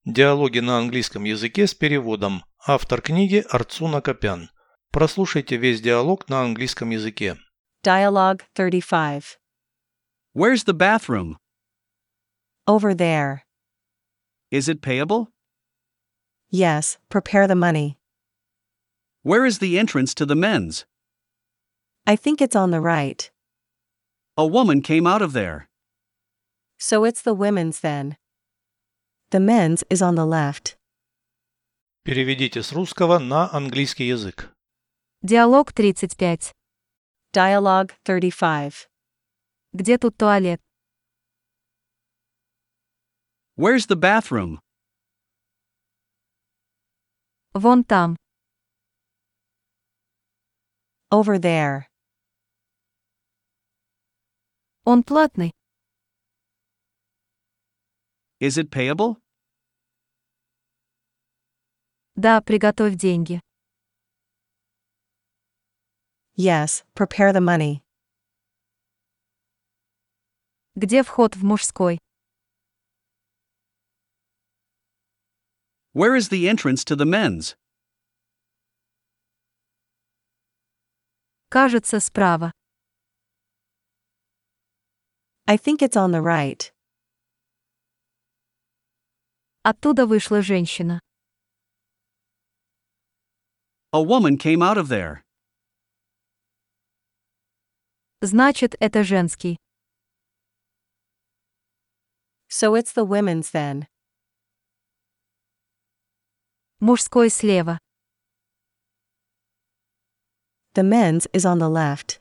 Диалоги на английском языке с переводом. Автор книги Арцуна Копян. Прослушайте весь диалог на английском языке. Dialogue 35. Where's the bathroom? Over there. Is it payable? Yes, prepare the money. Where is the entrance to the men's? I think it's on the right. A woman came out of there. So it's the women's then. The men's is on the left. Переведите с русского на английский язык. Диалог 35. Dialogue 35. Где тут туалет? Where's the bathroom? Вон там. Over there. Он платный. Is it payable? Да, приготовь деньги. Yes, prepare the money. Где вход в мужской? Where is the entrance to the men's? Кажется, справа. I think it's on the right. Оттуда вышла женщина. A woman came out of there. Значит, это женский. So it's the women's then. Мужской слева. The men's is on the left.